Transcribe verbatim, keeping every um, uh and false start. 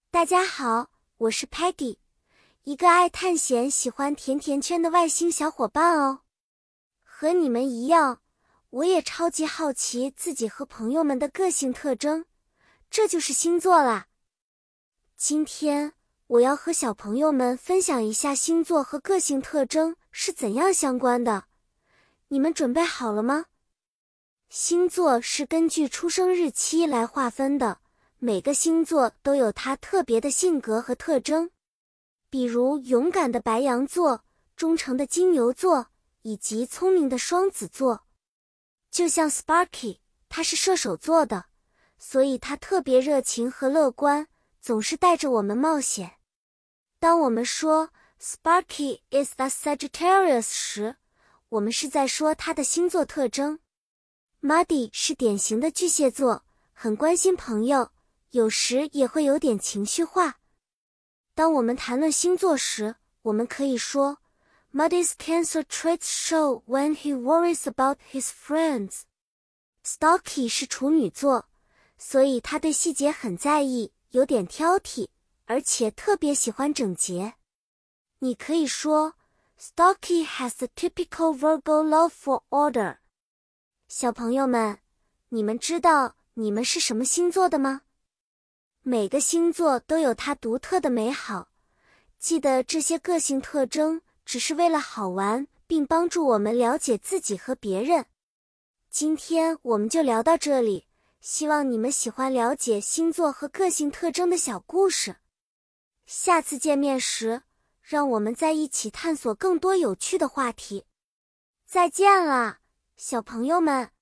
大家好，我是 Peggy， 一个爱探险、喜欢甜甜圈的外星小伙伴哦。和你们一样，我也超级好奇自己和朋友们的个性特征，这就是星座啦。今天我要和小朋友们分享一下星座和个性特征是怎样相关的。你们准备好了吗？星座是根据出生日期来划分的，每个星座都有它特别的性格和特征，比如勇敢的白羊座、忠诚的金牛座以及聪明的双子座。就像 Sparky， 他是射手座的，所以他特别热情和乐观，总是带着我们冒险。当我们说 Sparky is a Sagittarius 时，我们是在说他的星座特征。Muddy 是典型的巨蟹座，很关心朋友，有时也会有点情绪化。当我们谈论星座时，我们可以说 Muddy's Cancer traits show when he worries about his friends. Stocky 是处女座，所以他对细节很在意，有点挑剔，而且特别喜欢整洁。你可以说 Stocky has the typical Virgo love for order. 小朋友们，你们知道你们是什么星座的吗？每个星座都有它独特的美好，记得这些个性特征只是为了好玩，并帮助我们了解自己和别人。今天我们就聊到这里，希望你们喜欢了解星座和个性特征的小故事。下次见面时，让我们再一起探索更多有趣的话题。再见了，小朋友们。